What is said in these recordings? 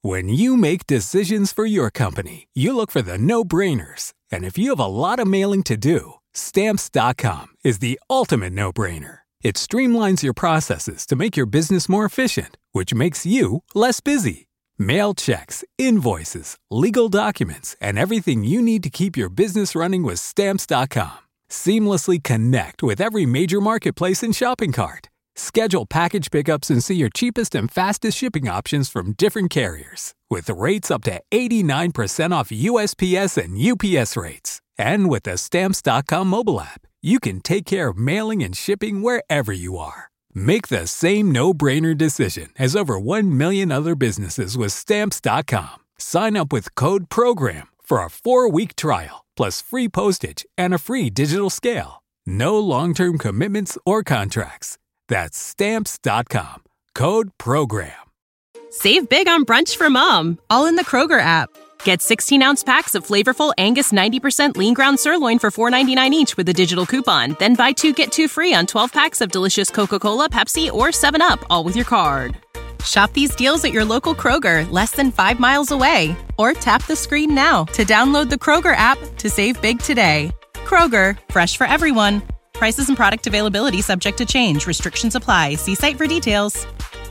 When you make decisions for your company, you look for the no-brainers. And if you have a lot of mailing to do, Stamps.com is the ultimate no-brainer. It streamlines your processes to make your business more efficient, which makes you less busy. Mail checks, invoices, legal documents, and everything you need to keep your business running with Stamps.com. Seamlessly connect with every major marketplace and shopping cart. Schedule package pickups and see your cheapest and fastest shipping options from different carriers, with rates up to 89% off USPS and UPS rates. And with the Stamps.com mobile app, you can take care of mailing and shipping wherever you are. Make the same no-brainer decision as over 1 million other businesses with Stamps.com. Sign up with code PROGRAM for a 4-week trial, plus free postage and a free digital scale. No long-term commitments or contracts. That's Stamps.com. Code PROGRAM. Save big on brunch for mom, all in the Kroger app. Get 16-ounce packs of flavorful Angus 90% lean ground sirloin for $4.99 each with a digital coupon. Then buy 2, get 2 free on 12 packs of delicious Coca-Cola, Pepsi, or 7-Up, all with your card. Shop these deals at your local Kroger, less than 5 miles away. Or tap the screen now to download the Kroger app to save big today. Kroger, fresh for everyone. Prices and product availability subject to change. Restrictions apply. See site for details.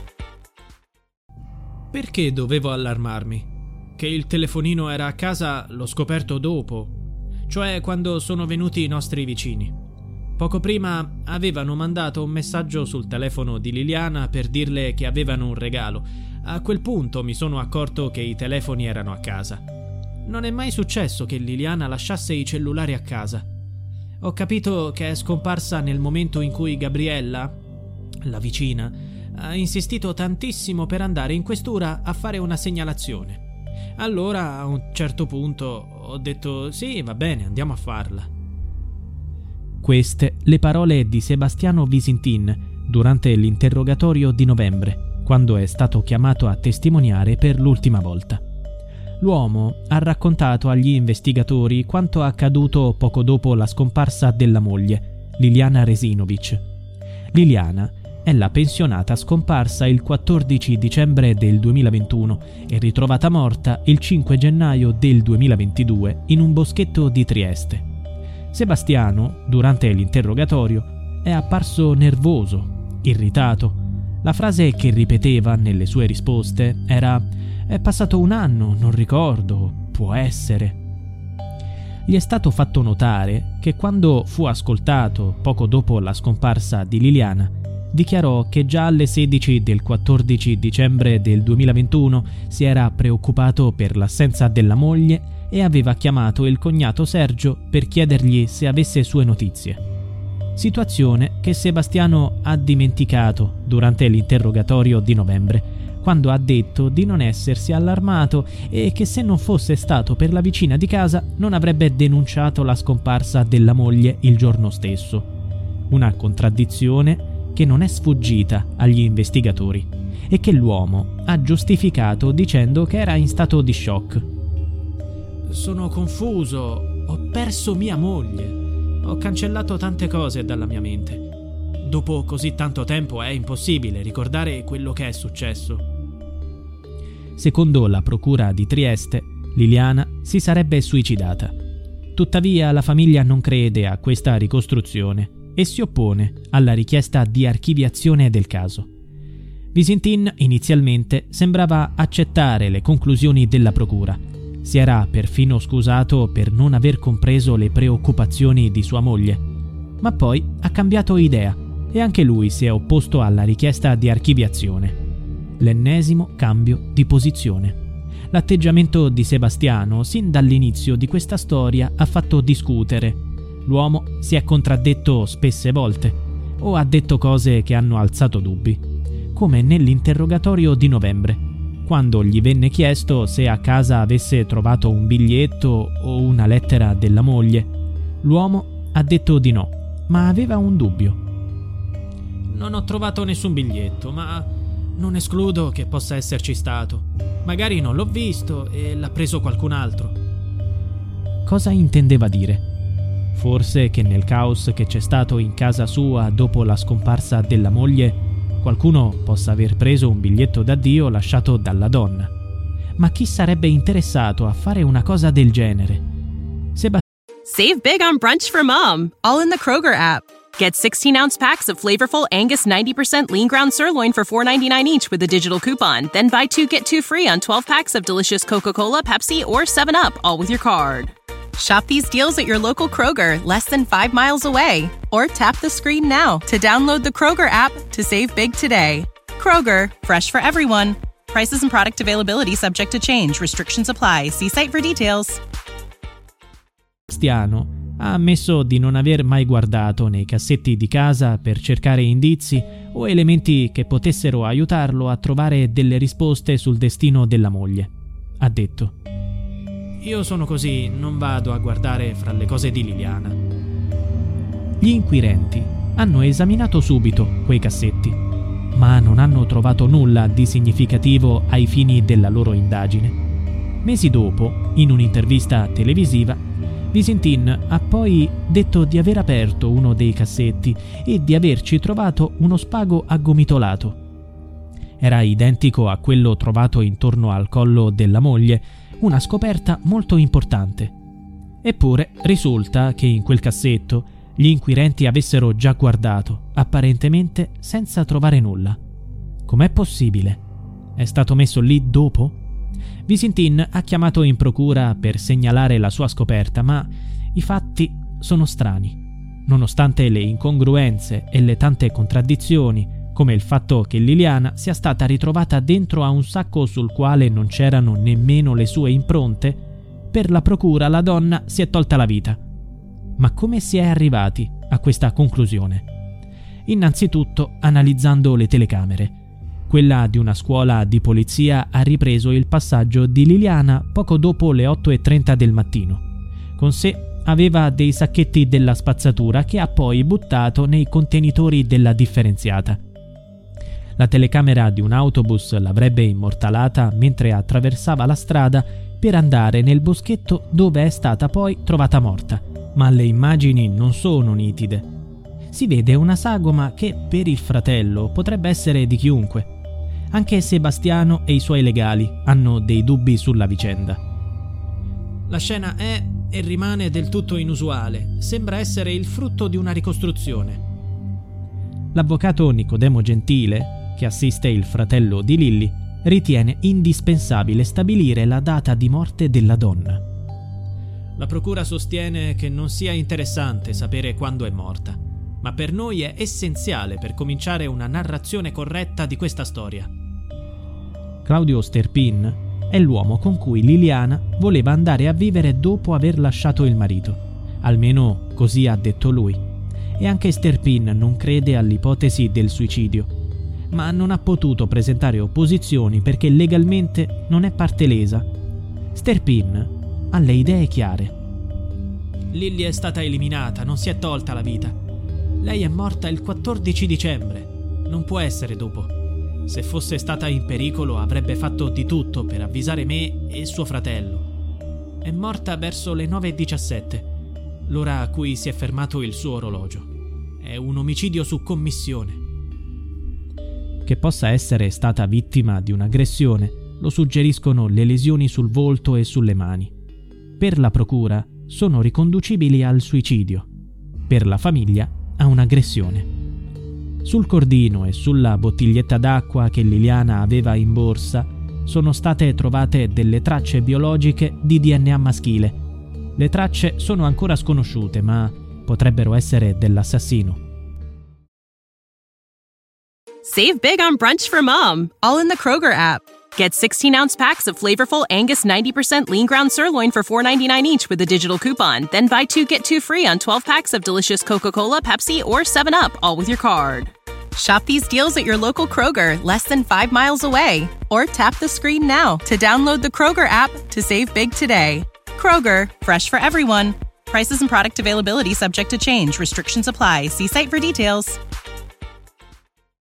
Perché dovevo allarmarmi? Che il telefonino era a casa l'ho scoperto dopo, cioè quando sono venuti i nostri vicini. Poco prima avevano mandato un messaggio sul telefono di Liliana per dirle che avevano un regalo. A quel punto mi sono accorto che i telefoni erano a casa. Non è mai successo che Liliana lasciasse i cellulari a casa. Ho capito che è scomparsa nel momento in cui Gabriella, la vicina, ha insistito tantissimo per andare in questura a fare una segnalazione. Allora, a un certo punto, ho detto sì, va bene, andiamo a farla. Queste le parole di Sebastiano Visintin durante l'interrogatorio di novembre, quando è stato chiamato a testimoniare per l'ultima volta. L'uomo ha raccontato agli investigatori quanto accaduto poco dopo la scomparsa della moglie, Liliana Resinovic. Liliana è la pensionata scomparsa il 14 dicembre del 2021 e ritrovata morta il 5 gennaio del 2022 in un boschetto di Trieste. Sebastiano, durante l'interrogatorio, è apparso nervoso, irritato. La frase che ripeteva nelle sue risposte era «È passato un anno, non ricordo, può essere». Gli è stato fatto notare che quando fu ascoltato poco dopo la scomparsa di Liliana, dichiarò che già alle 16 del 14 dicembre del 2021 si era preoccupato per l'assenza della moglie e aveva chiamato il cognato Sergio per chiedergli se avesse sue notizie. Situazione che Sebastiano ha dimenticato durante l'interrogatorio di novembre, quando ha detto di non essersi allarmato e che se non fosse stato per la vicina di casa non avrebbe denunciato la scomparsa della moglie il giorno stesso. Una contraddizione che non è sfuggita agli investigatori e che l'uomo ha giustificato dicendo che era in stato di shock. Sono confuso, ho perso mia moglie, ho cancellato tante cose dalla mia mente. Dopo così tanto tempo è impossibile ricordare quello che è successo. Secondo la procura di Trieste, Liliana si sarebbe suicidata. Tuttavia la famiglia non crede a questa ricostruzione e si oppone alla richiesta di archiviazione del caso. Visintin inizialmente sembrava accettare le conclusioni della procura. Si era perfino scusato per non aver compreso le preoccupazioni di sua moglie, ma poi ha cambiato idea e anche lui si è opposto alla richiesta di archiviazione. L'ennesimo cambio di posizione. L'atteggiamento di Sebastiano sin dall'inizio di questa storia ha fatto discutere. L'uomo si è contraddetto spesse volte o ha detto cose che hanno alzato dubbi, come nell'interrogatorio di novembre, quando gli venne chiesto se a casa avesse trovato un biglietto o una lettera della moglie. L'uomo ha detto di no, ma aveva un dubbio. Non ho trovato nessun biglietto, ma non escludo che possa esserci stato. Magari non l'ho visto e l'ha preso qualcun altro. Cosa intendeva dire? Forse che nel caos che c'è stato in casa sua dopo la scomparsa della moglie, qualcuno possa aver preso un biglietto d'addio lasciato dalla donna. Ma chi sarebbe interessato a fare una cosa del genere? Save big on brunch for mom, all in the Kroger app. Get 16-ounce packs of flavorful Angus 90% lean ground sirloin for $4.99 each with a digital coupon. Then buy 2, get 2 free on 12 packs of delicious Coca-Cola, Pepsi, or 7-Up, all with your card. Shop these deals at your local Kroger, less than 5 miles away. Or tap the screen now to download the Kroger app to save big today. Kroger, fresh for everyone. Prices and product availability subject to change. Restrictions apply. See site for details. Sebastiano ha ammesso di non aver mai guardato nei cassetti di casa per cercare indizi o elementi che potessero aiutarlo a trovare delle risposte sul destino della moglie. Ha detto: "Io sono così, non vado a guardare fra le cose di Liliana". Gli inquirenti hanno esaminato subito quei cassetti, ma non hanno trovato nulla di significativo ai fini della loro indagine. Mesi dopo, in un'intervista televisiva, Visintin ha poi detto di aver aperto uno dei cassetti e di averci trovato uno spago aggomitolato. Era identico a quello trovato intorno al collo della moglie, una scoperta molto importante. Eppure risulta che in quel cassetto gli inquirenti avessero già guardato, apparentemente senza trovare nulla. Com'è possibile? È stato messo lì dopo? Visintin ha chiamato in procura per segnalare la sua scoperta, ma i fatti sono strani. Nonostante le incongruenze e le tante contraddizioni, come il fatto che Liliana sia stata ritrovata dentro a un sacco sul quale non c'erano nemmeno le sue impronte, per la procura la donna si è tolta la vita. Ma come si è arrivati a questa conclusione? Innanzitutto analizzando le telecamere. Quella di una scuola di polizia ha ripreso il passaggio di Liliana poco dopo le 8:30 del mattino. Con sé aveva dei sacchetti della spazzatura che ha poi buttato nei contenitori della differenziata. La telecamera di un autobus l'avrebbe immortalata mentre attraversava la strada per andare nel boschetto dove è stata poi trovata morta, ma le immagini non sono nitide. Si vede una sagoma che per il fratello potrebbe essere di chiunque. Anche Sebastiano e i suoi legali hanno dei dubbi sulla vicenda. La scena è e rimane del tutto inusuale, sembra essere il frutto di una ricostruzione. L'avvocato Nicodemo Gentile, che assiste il fratello di Lilly, ritiene indispensabile stabilire la data di morte della donna. La procura sostiene che non sia interessante sapere quando è morta, ma per noi è essenziale per cominciare una narrazione corretta di questa storia. Claudio Sterpin è l'uomo con cui Liliana voleva andare a vivere dopo aver lasciato il marito. Almeno così ha detto lui. E anche Sterpin non crede all'ipotesi del suicidio, ma non ha potuto presentare opposizioni perché legalmente non è parte lesa. Sterpin ha le idee chiare. Lilly è stata eliminata, non si è tolta la vita. Lei è morta il 14 dicembre. Non può essere dopo. Se fosse stata in pericolo avrebbe fatto di tutto per avvisare me e suo fratello. È morta verso le 9:17, l'ora a cui si è fermato il suo orologio. È un omicidio su commissione. Che possa essere stata vittima di un'aggressione lo suggeriscono le lesioni sul volto e sulle mani. Per la procura sono riconducibili al suicidio. Per la famiglia a un'aggressione. Sul cordino e sulla bottiglietta d'acqua che Liliana aveva in borsa sono state trovate delle tracce biologiche di DNA maschile. Le tracce sono ancora sconosciute, ma potrebbero essere dell'assassino. Save big on brunch for mom, all in the Kroger app. Get 16-ounce packs of flavorful Angus 90% lean ground sirloin for $4.99 each with a digital coupon. Then buy 2, get 2 free on 12 packs of delicious Coca-Cola, Pepsi, or 7-Up, all with your card. Shop these deals at your local Kroger, less than 5 miles away. Or tap the screen now to download the Kroger app to save big today. Kroger, fresh for everyone. Prices and product availability subject to change. Restrictions apply. See site for details.